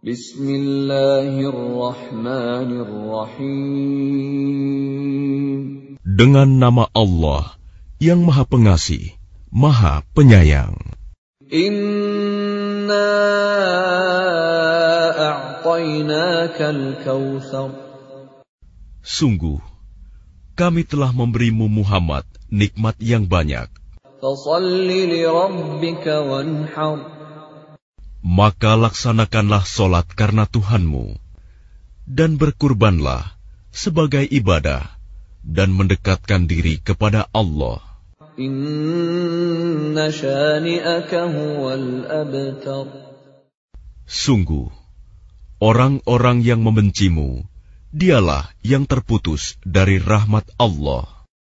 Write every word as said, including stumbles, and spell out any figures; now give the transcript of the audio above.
Bismillahirrahmanirrahim. Dengan nama Allah yang Maha Pengasih, Maha Penyayang. Inna a'tainakal kautsar. Sungguh, kami telah memberimu Muhammad nikmat yang banyak. Fashalli li rabbika wanhar. Maka laksanakanlah solat karena Tuhanmu, dan berkurbanlah sebagai ibadah, dan mendekatkan diri kepada Allah. Inna syani'aka huwal abtar. Sungguh, orang-orang yang membencimu, dialah yang terputus dari rahmat Allah.